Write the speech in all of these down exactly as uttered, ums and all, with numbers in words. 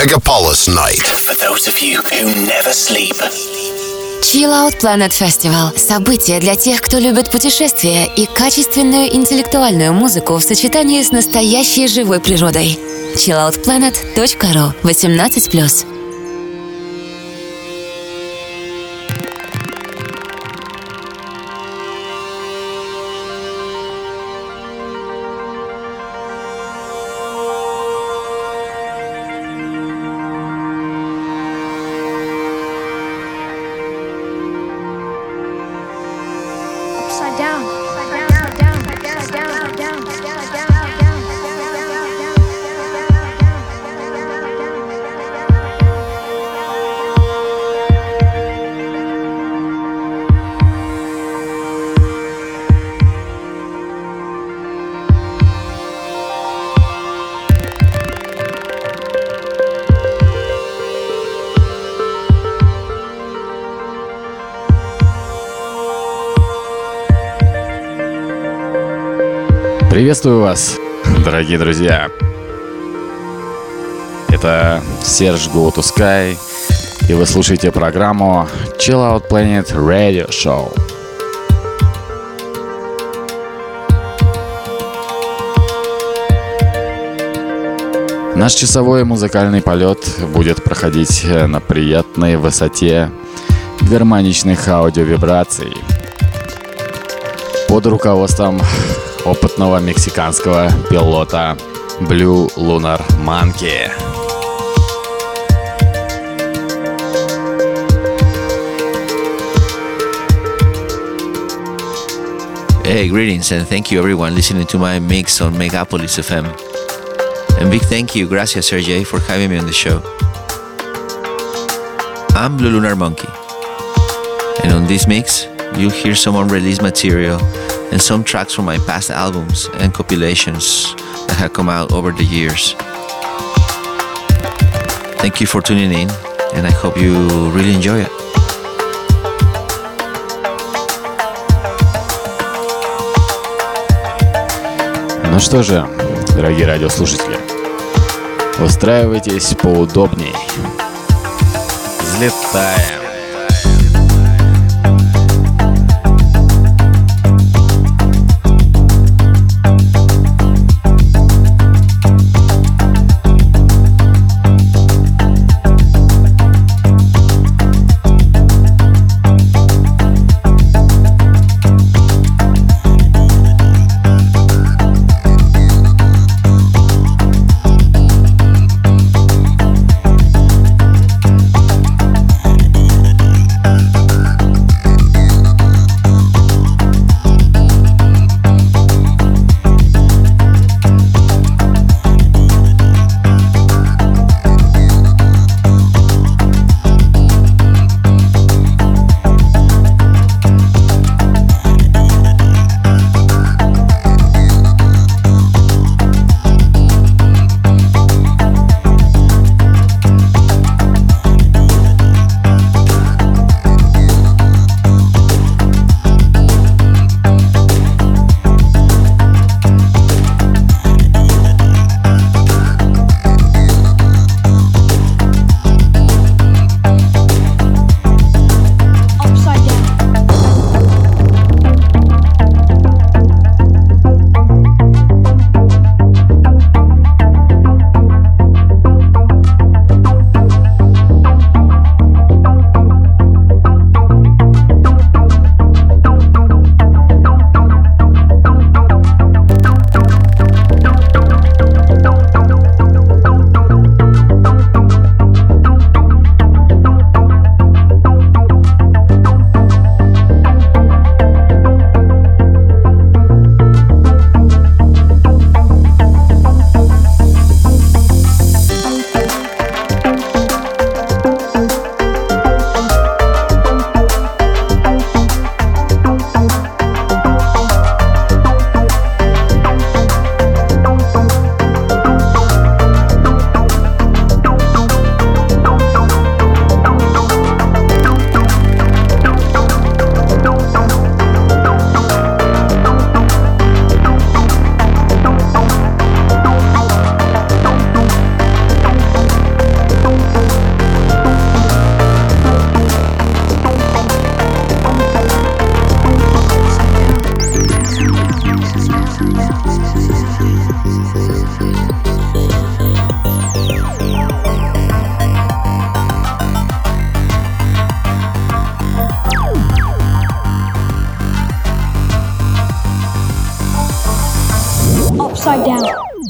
Megapolis Night. For those of you who never sleep. Chill Out Planet Festival – событие для тех, кто любит путешествия и качественную интеллектуальную музыку в сочетании с настоящей живой природой. чилл аут планет точка ру. восемнадцать плюс. Приветствую вас, дорогие друзья. Это Серж Go to Sky, и вы слушаете программу Chill Out Planet Radio Show. Наш часовой музыкальный полет будет проходить на приятной высоте гармоничных аудиовибраций под руководством опытного мексиканского пилота Blue Lunar Monkey. Hey, greetings and thank you everyone listening to my mix on Megapolis F M. And big thank you, gracias Sergey, for having me on the show. I'm Blue Lunar Monkey, and on this mix you'll hear some unreleased material and some tracks from my past albums and compilations that have come out over the years. Thank you for tuning in, and I hope you really enjoy it. Ну что же, дорогие радиослушатели, устраивайтесь поудобней. Взлетаем. Upside down.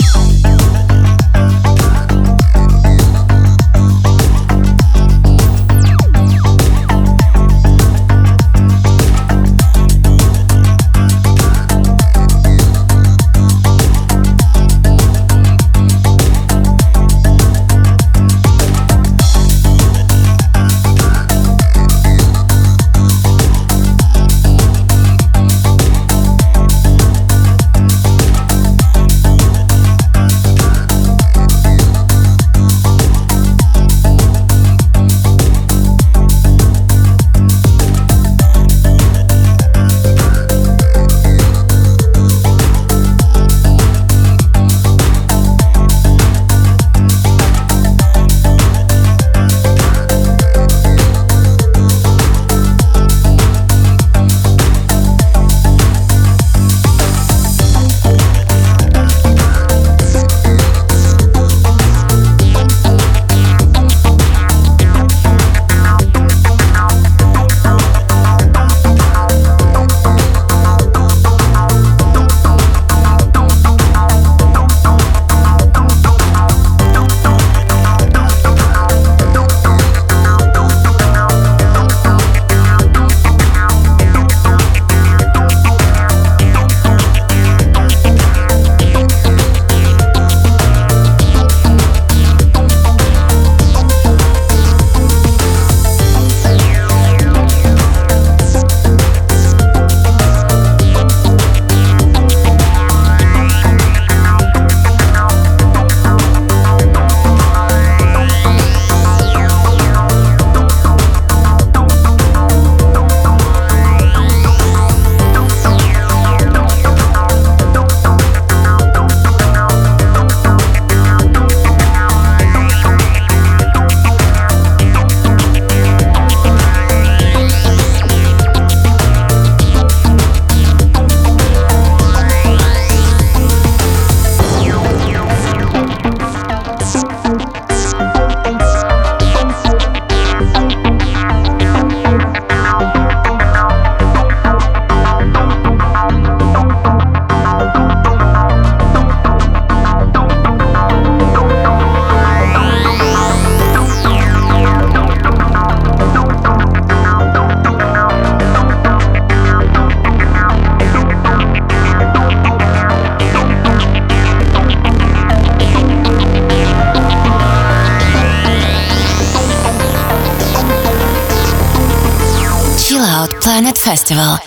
Planet Festival.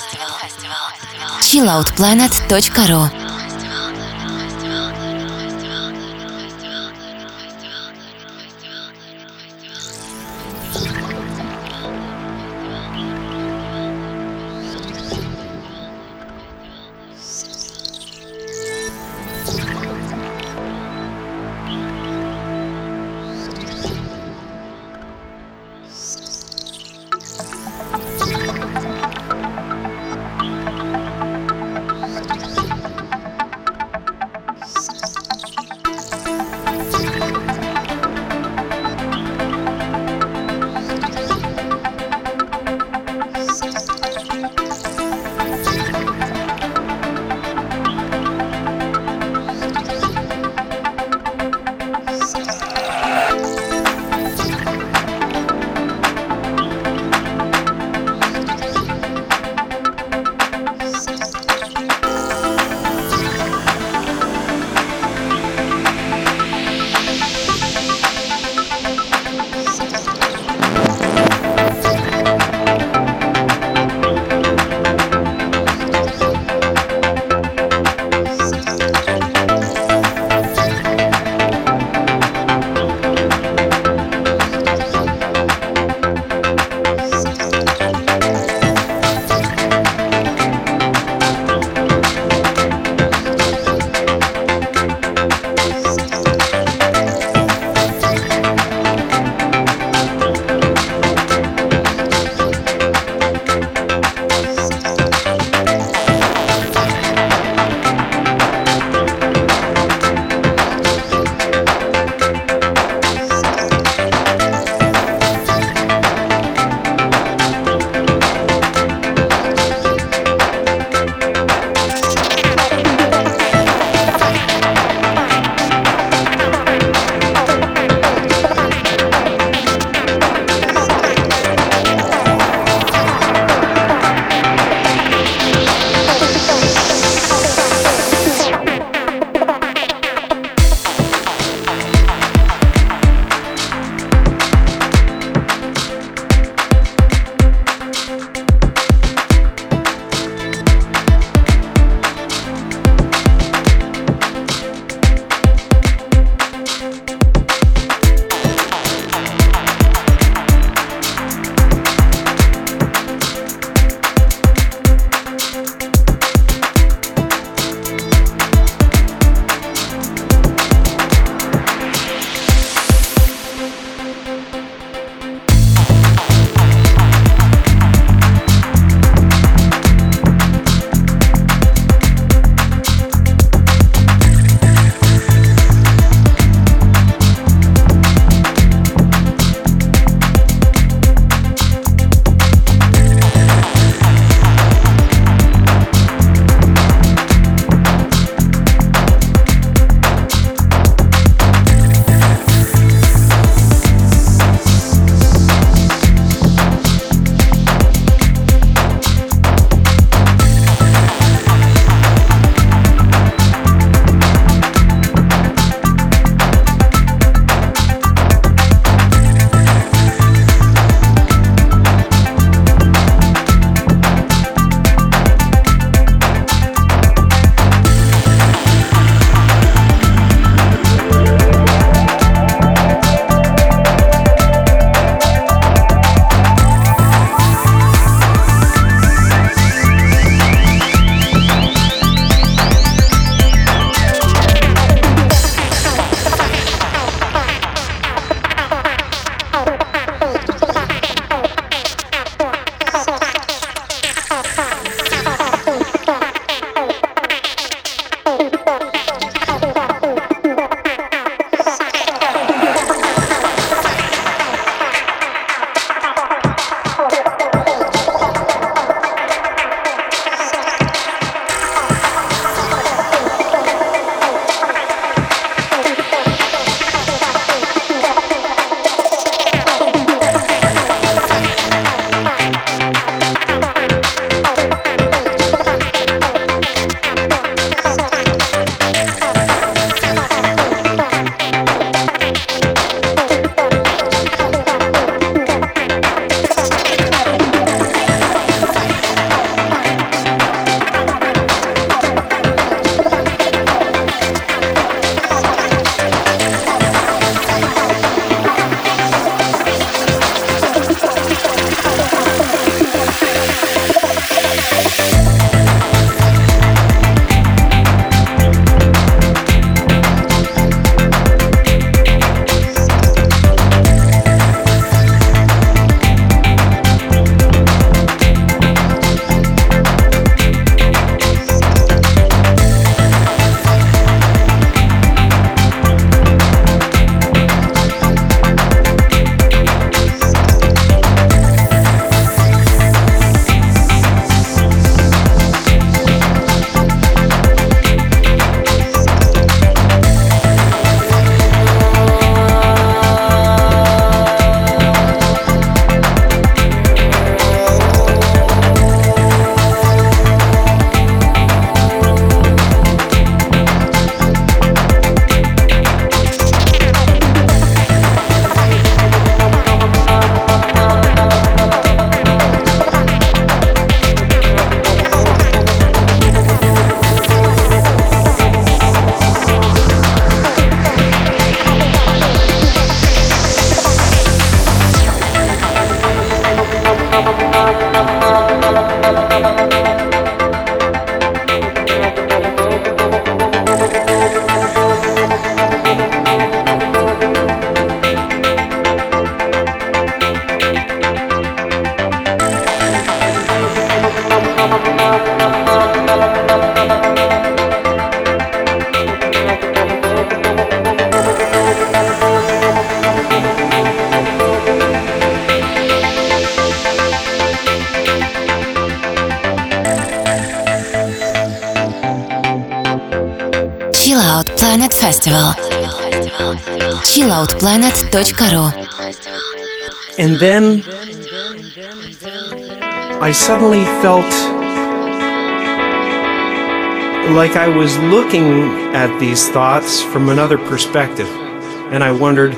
чил аут планет точка ру. Planet Festival. chill out planet dot ru. And then I suddenly felt like I was looking at these thoughts from another perspective. And I wondered,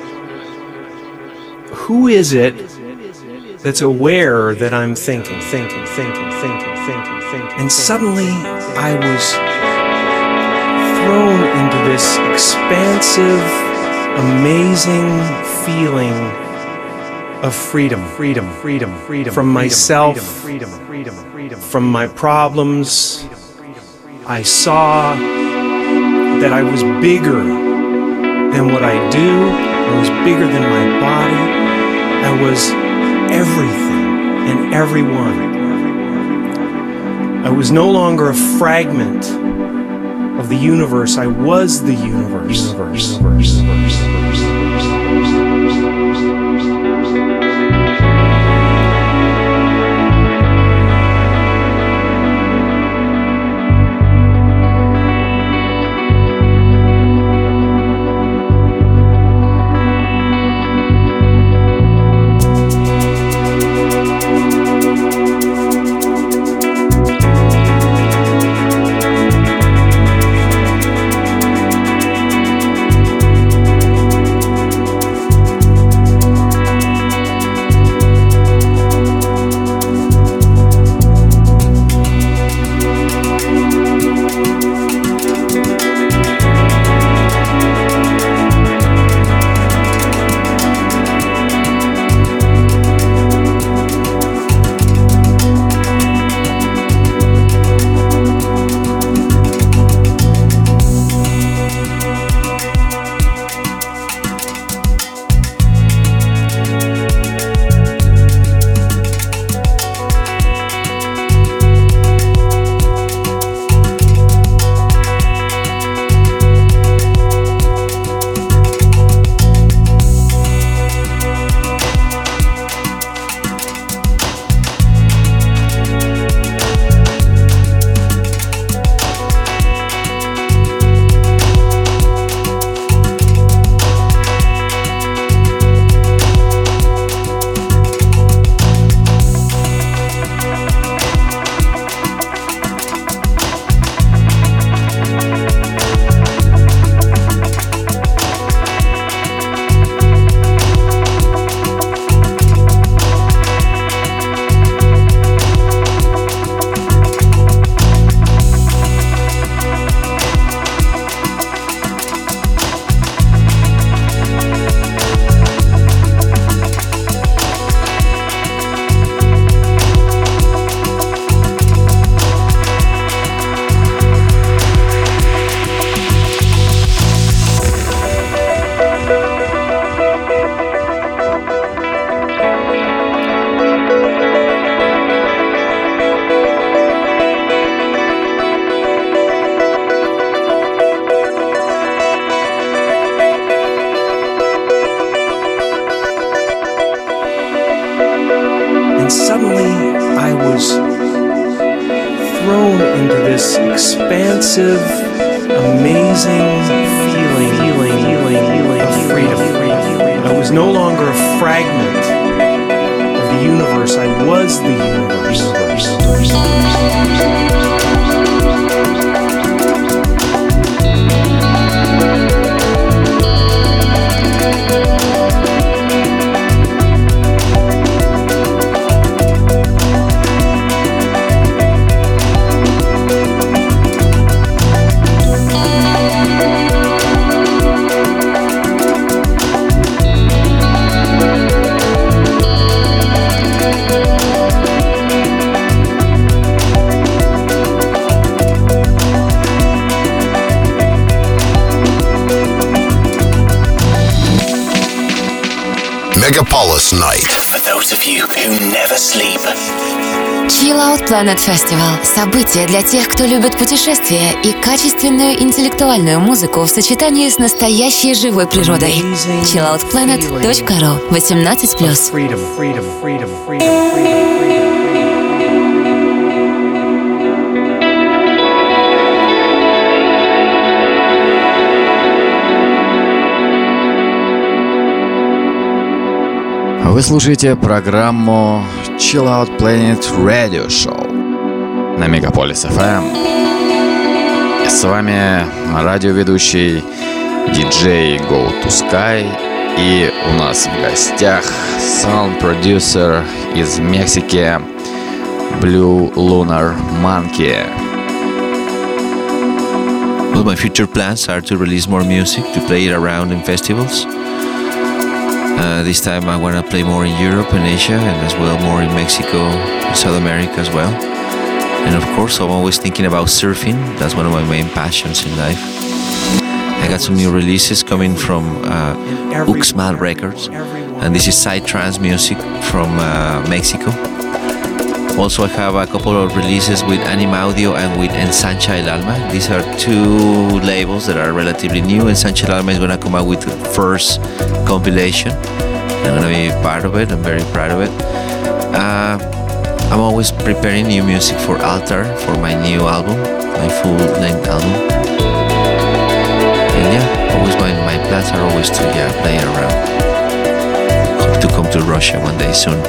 who is it that's aware that I'm thinking, thinking, thinking, thinking, thinking, thinking? And suddenly I was thrown into this expansive, amazing feeling of freedom, freedom, freedom, freedom from myself, freedom, freedom, freedom from my problems. I saw that I was bigger than what I do. I was bigger than my body. I was everything and everyone. I was no longer a fragment of the universe. I was the universe. Universe. Universe. Universe. Expansive, amazing feeling, feeling, feeling, feeling of freedom. I was no longer a fragment of the universe. I was the universe. Megapolis Night. For those of you who never sleep. Chill Out Planet Festival – событие для тех, кто любит путешествия и качественную интеллектуальную музыку в сочетании с настоящей живой природой. chill out planet dot ru. восемнадцать плюс. Вы слушаете программу Chill Out Planet Radio Show на Мегаполис эф эм. И с вами радиоведущий диджей Go to Sky. И у нас в гостях саунд-продюсер из Мексики Blue Lunar Monkey. Well, my future plans are to release more music, to play it around in festivals. Uh, this time I want to play more in Europe and Asia, and as well more in Mexico and South America as well. And of course I'm always thinking about surfing. That's one of my main passions in life. I got some new releases coming from uh, Uxmal Records, and this is Psytrance music from uh, Mexico. Also I have a couple of releases with Anima Audio and with Ensancha El Alma. These are two labels that are relatively new. Ensancha El Alma is going to come out with the first compilation. I'm going to be part of it. I'm very proud of it. Uh, I'm always preparing new music for Altar, for my new album, my full-length album. And yeah, always my, my plans are always to yeah play around. Hope to come to Russia one day soon.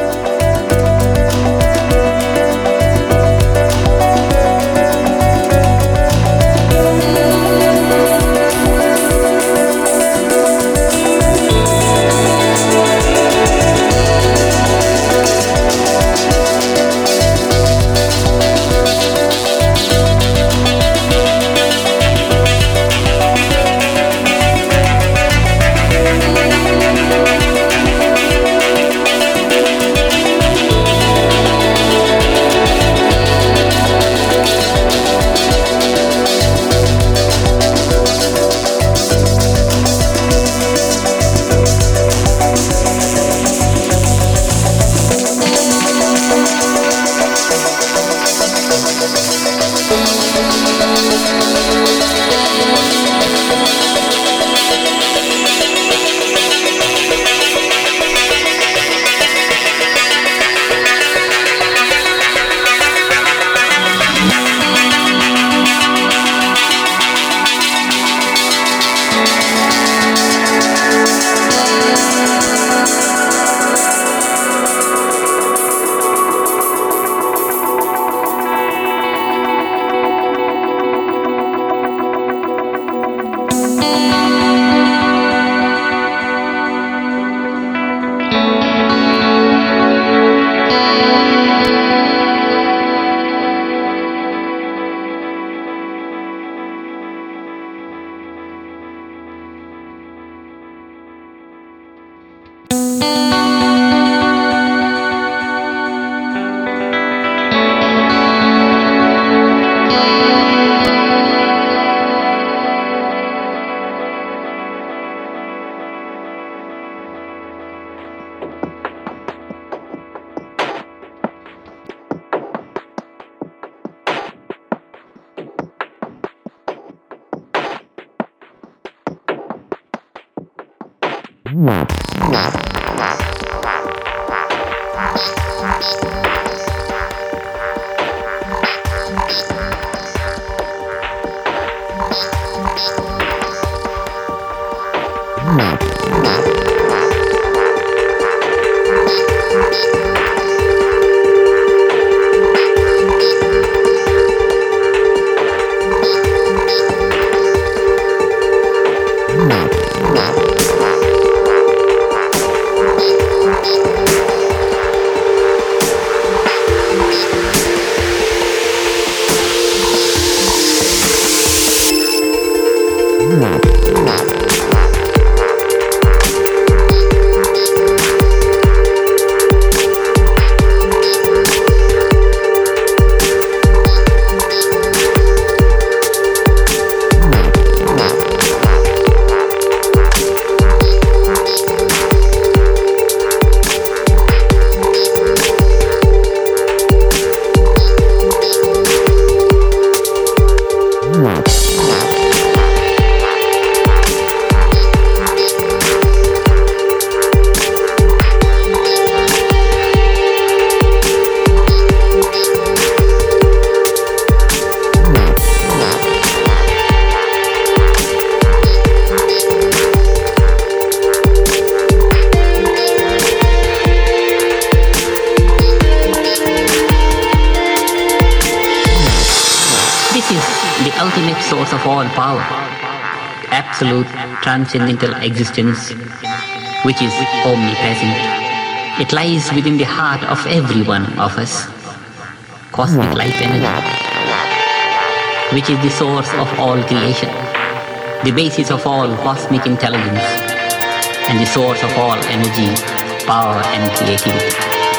ultimate source of all power, absolute transcendental existence, which is omnipresent. It lies within the heart of every one of us. Cosmic life energy, which is the source of all creation, the basis of all cosmic intelligence, and the source of all energy, power, and creativity.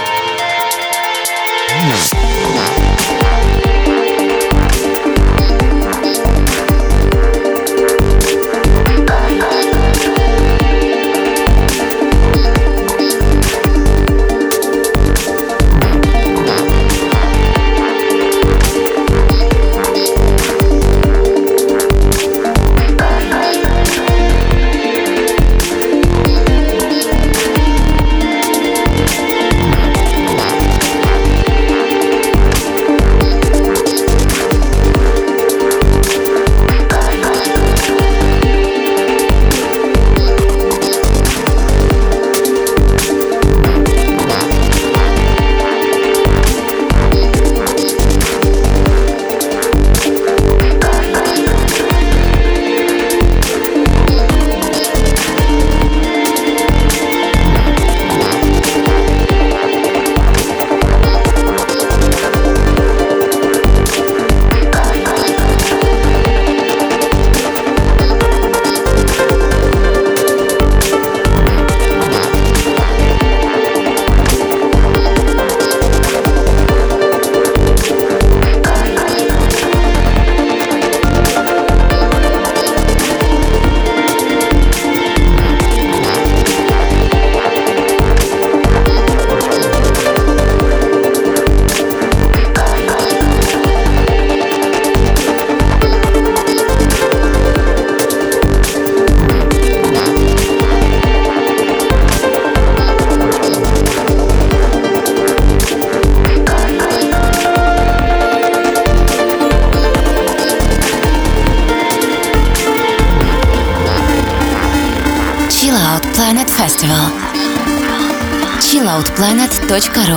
Planet Festival. чил аут планет точка ру.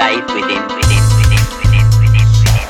life within, within, within, within, within, within.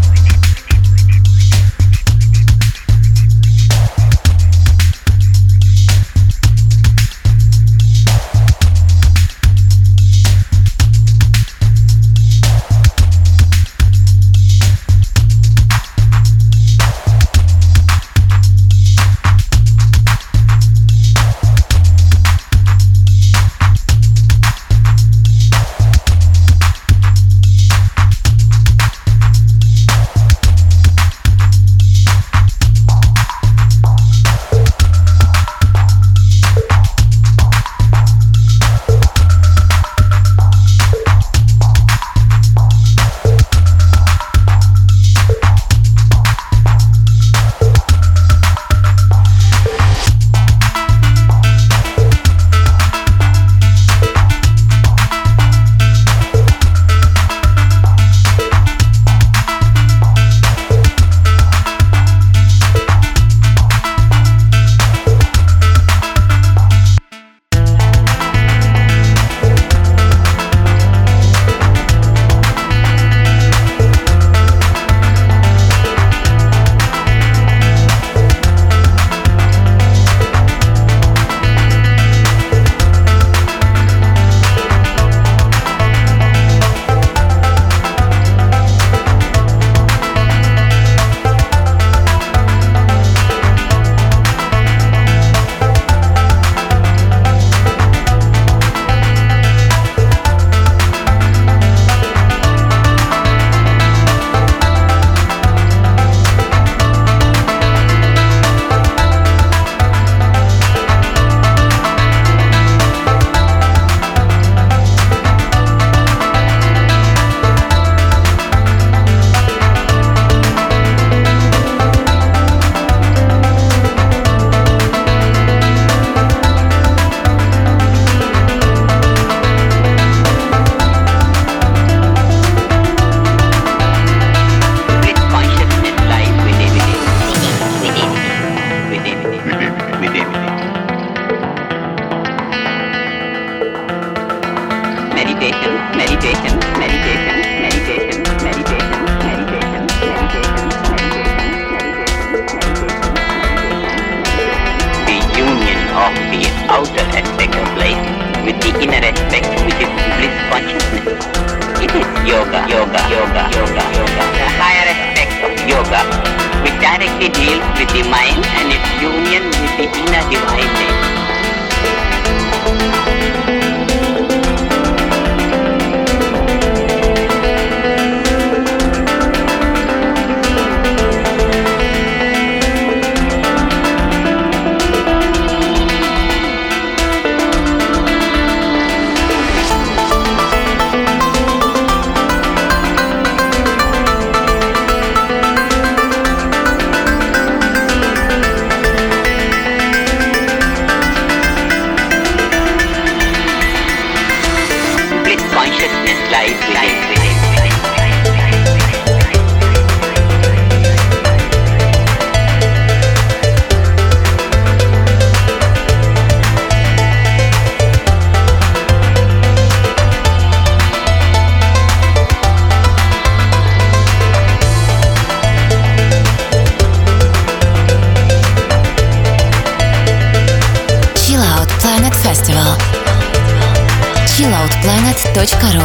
чилл аут планет точка ру.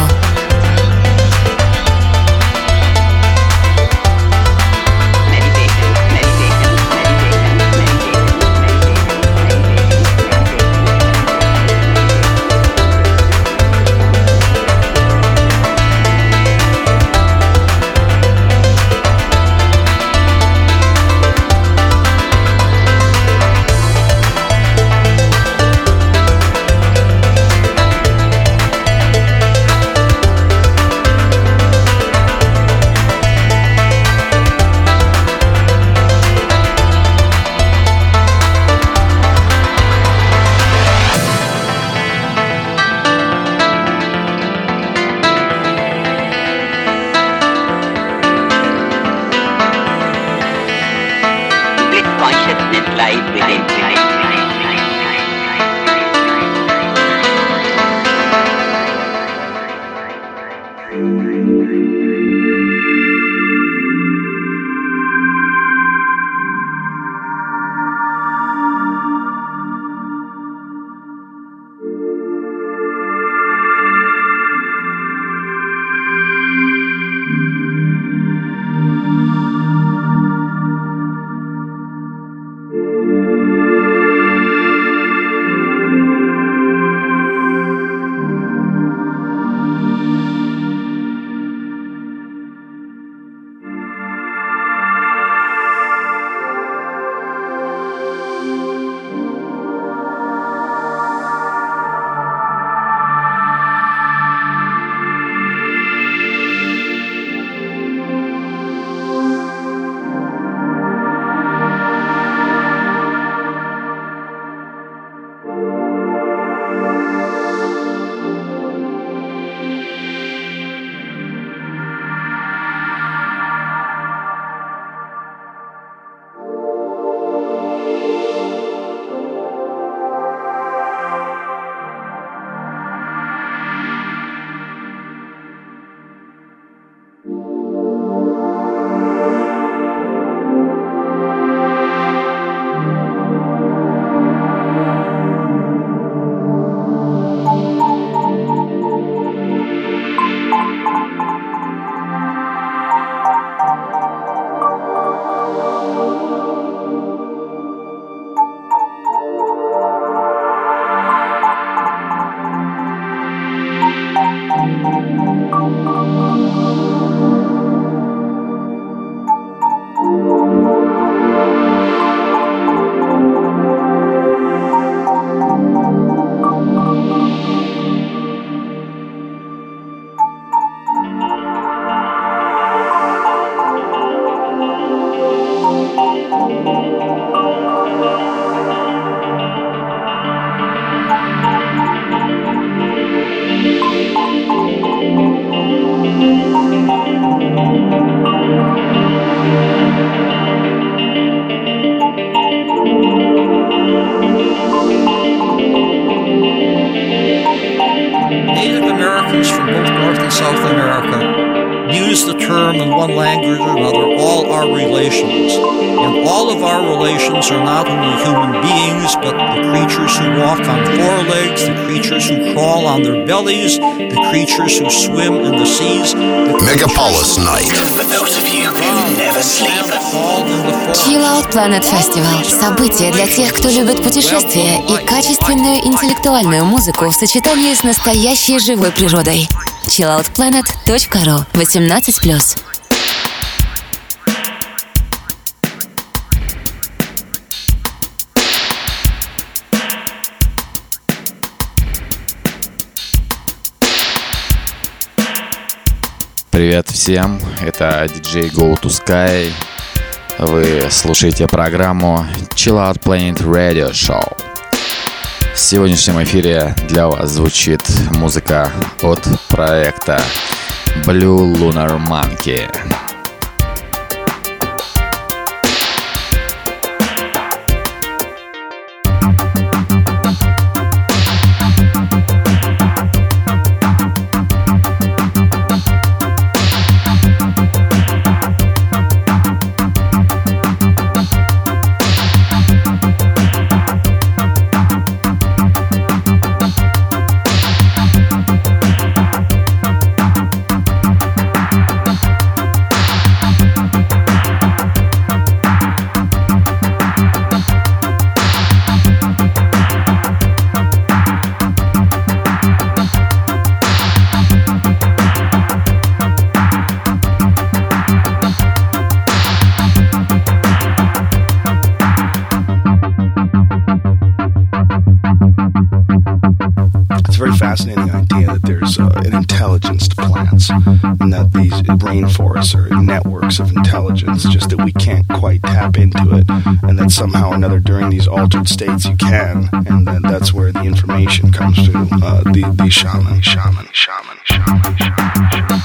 use the term in one language or another, all our relations. And all of our relations are not only human beings, but the creatures who walk on four legs, the creatures who crawl on their bellies, the creatures who swim in the seas. The Megapolis Night. For those of you who never sleep. Chill Out Planet Festival – событие для тех, кто любит путешествия и качественную интеллектуальную музыку в сочетании с настоящей живой природой. чилл аут планет точка ру, восемнадцать плюс. Привет всем, это диджей Go to Sky. Вы слушаете программу Chill Out Planet Radio Show. В сегодняшнем эфире для вас звучит музыка от проекта Blue Lunar Monkey. Fascinating idea that there's uh, an intelligence to plants, and that these rainforests are networks of intelligence, just that we can't quite tap into it, and that somehow or another during these altered states you can, and then that's where the information comes to uh, the, the shaman, shaman, shaman, shaman, shaman, shaman.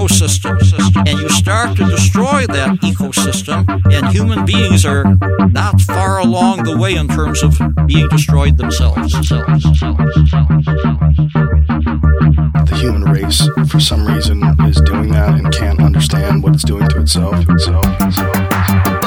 ecosystem, and you start to destroy that ecosystem, and human beings are not far along the way in terms of being destroyed themselves. The human race, for some reason, is doing that and can't understand what it's doing to itself. itself, itself, itself.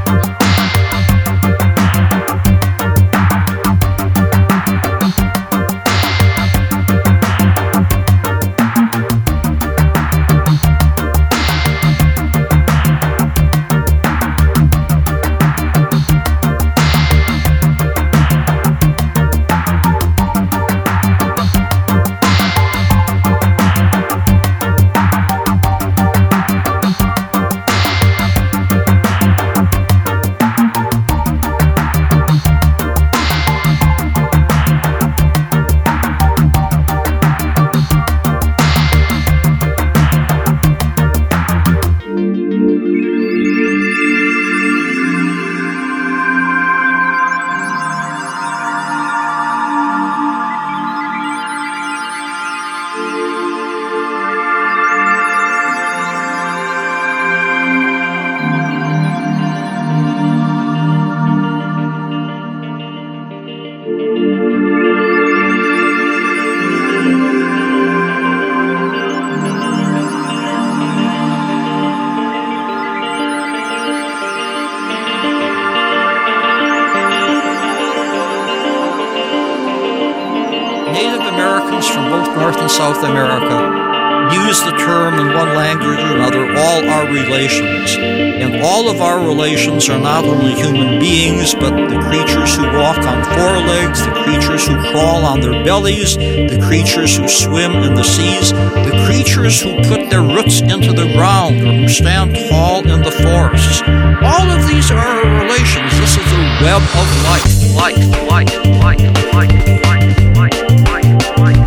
South America use the term in one language or another, all our relations. And all of our relations are not only human beings, but the creatures who walk on four legs, the creatures who crawl on their bellies, the creatures who swim in the seas, the creatures who put their roots into the ground or who stand tall in the forests. All of these are our relations. This is the web of life. Life, life, life, life, life, life, life, life, life.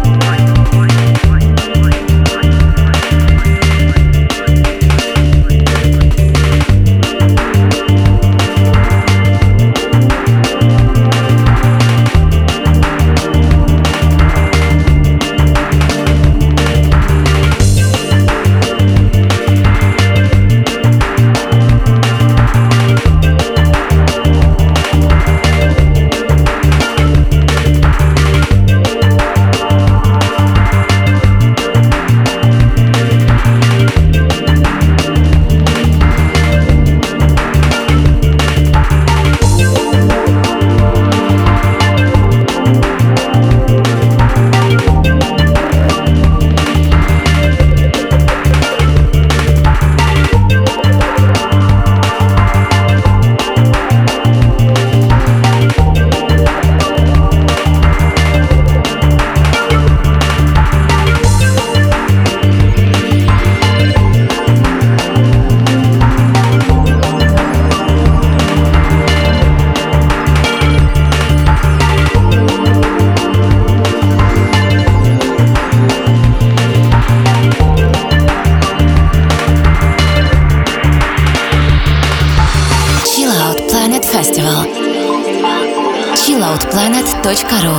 чиллаут планет точка ру.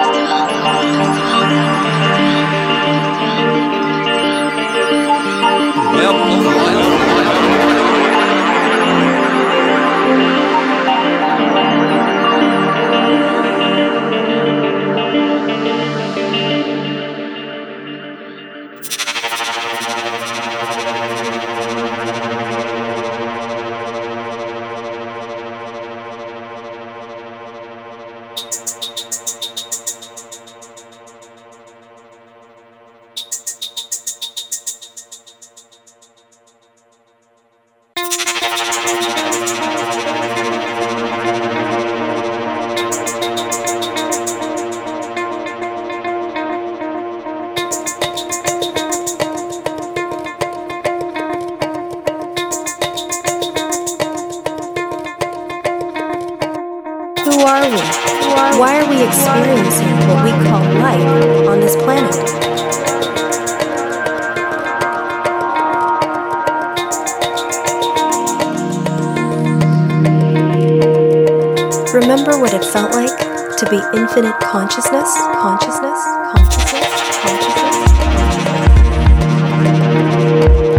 Who are we? Why are we experiencing what we call life on this planet? Remember what it felt like to be infinite consciousness, consciousness, consciousness, consciousness.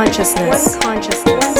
consciousness. One consciousness.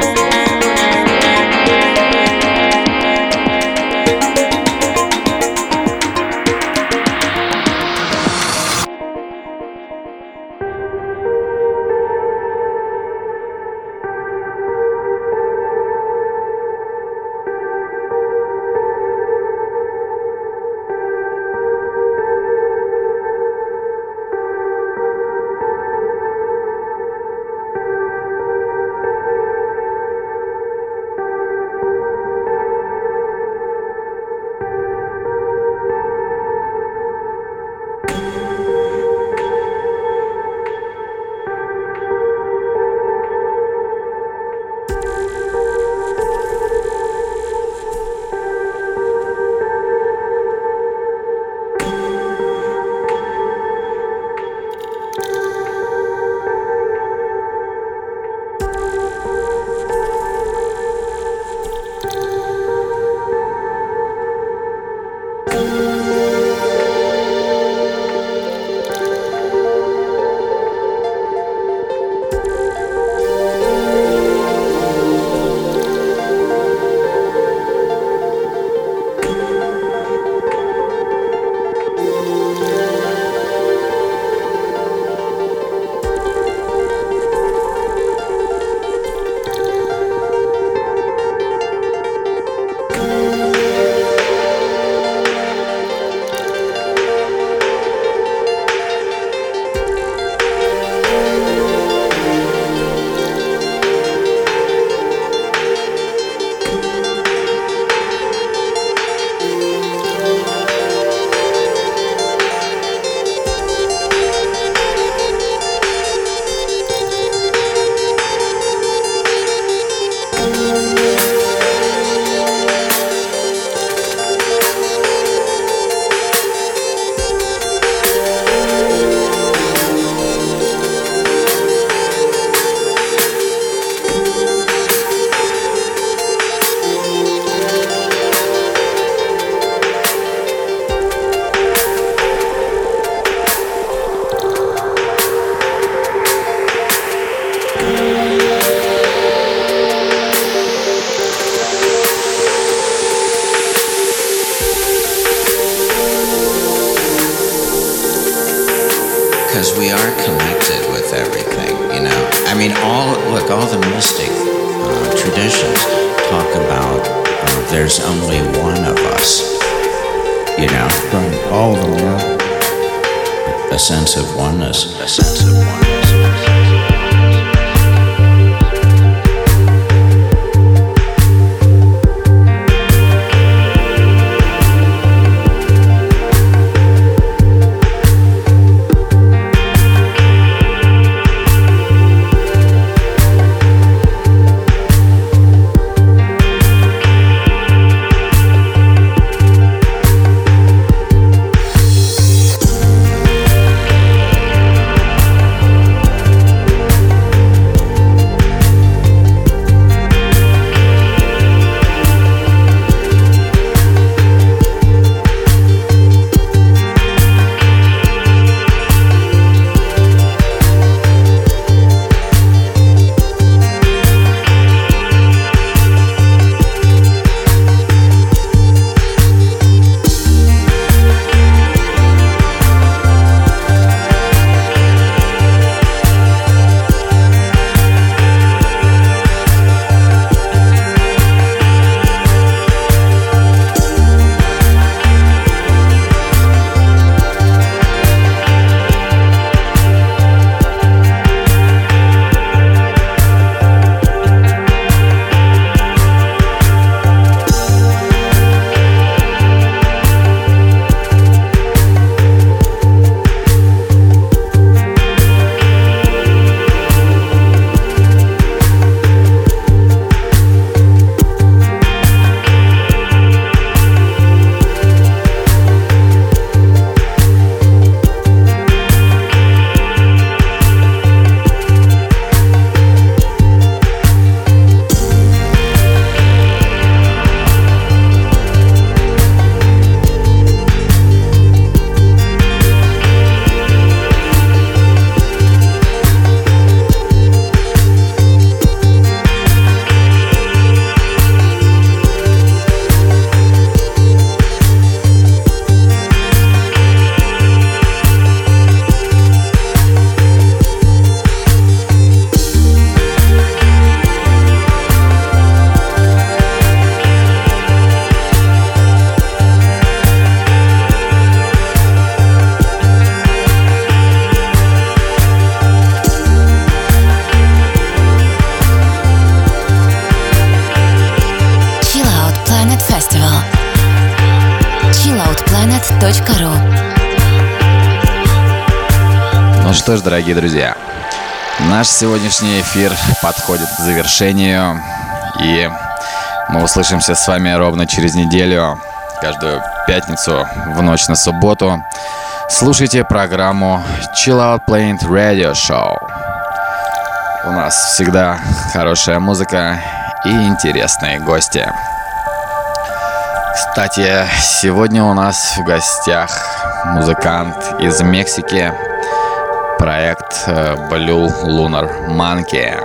because we are connected with everything, you know. I mean, all look, all the mystic uh, traditions talk about uh, there's only one of us, you know. Right, all of them, yeah. A sense of oneness, a sense of oneness. что ж, дорогие друзья, наш сегодняшний эфир подходит к завершению, и мы услышимся с вами ровно через неделю, каждую пятницу в ночь на субботу. Слушайте программу Chill Out Planet Radio Show. У нас всегда хорошая музыка и интересные гости. Кстати, сегодня у нас в гостях музыкант из Мексики, проект Blue Lunar Monkey.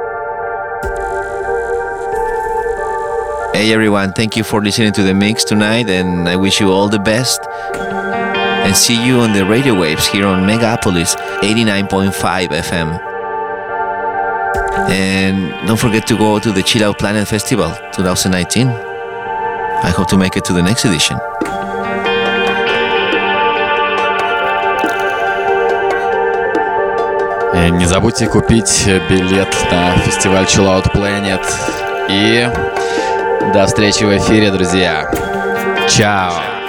Hey everyone, thank you for listening to the mix tonight, and I wish you all the best. And see you on the radio waves here on Megapolis eighty-nine point five F M. And don't forget to go to the Chill Out Planet Festival twenty nineteen. I hope to make it to the next edition. И не забудьте купить билет на фестиваль Chill Out Planet. И до встречи в эфире, друзья. Чао.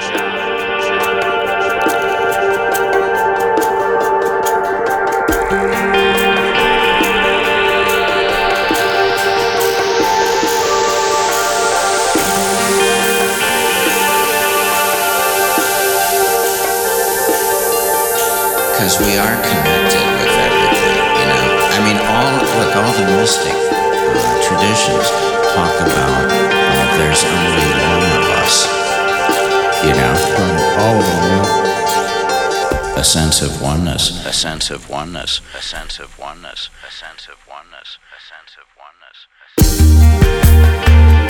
Because we are connected with everything, you know. I mean, all look, all the mystic uh, traditions talk about uh, there's only one of us, you know. All of them, yeah. A sense of oneness, a sense of oneness, a sense of oneness, a sense of oneness, a sense of oneness.